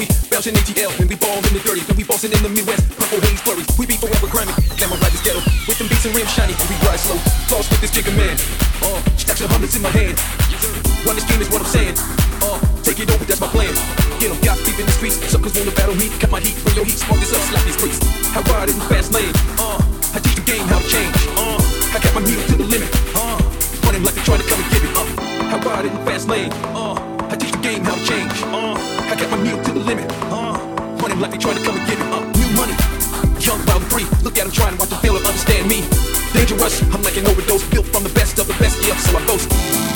we bouncing ATL, and we ball in the dirty, and we bossing in the Midwest. Purple haze flurries, we be forever grimy. Glamour ride this ghetto with them beats and rims shiny, and we ride slow. Floss with this Jigga man. Stacks of hundreds in my hand. Run this game is what I'm saying. Take it over, that's my plan. Get 'em, got deep in the streets. Suckers wanna battle me, cut my heat, bring your heat, spark this up, slap these freaks. I ride in the fast lane. I teach the game how to change. I got my needle to the limit. Running like they trying to come and give it up. I ride in the fast lane. I teach the game how to change. I got my needle to the limit. Running like they trying to come and give it up. New money, young, wild and free. Look at them trying to watch them fail and understand me. Dangerous, I'm like an overdose, built from the best of the best, yeah, so I boast.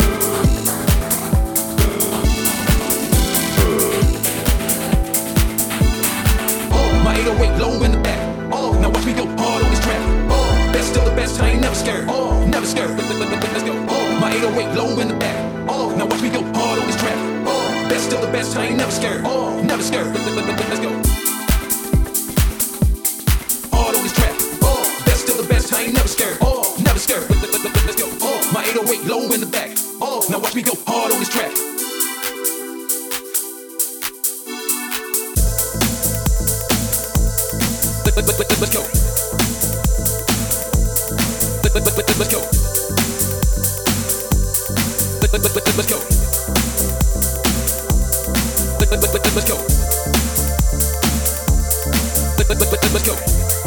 My 808 low in the back. Now watch me go hard on this track. Best of the best, I ain't never scared. Never scared. Let's go. My 808 low in the back. Now watch me go hard on this track. Best of the best, I ain't never scared. Never scared. Let's go. Hard on this track. Best of the best, I ain't never scared. Never scared. Let's go. My 808 low in the back. Now watch me go hard on this track. Let's go. Let's go. Let's go. Let's go. Let's go.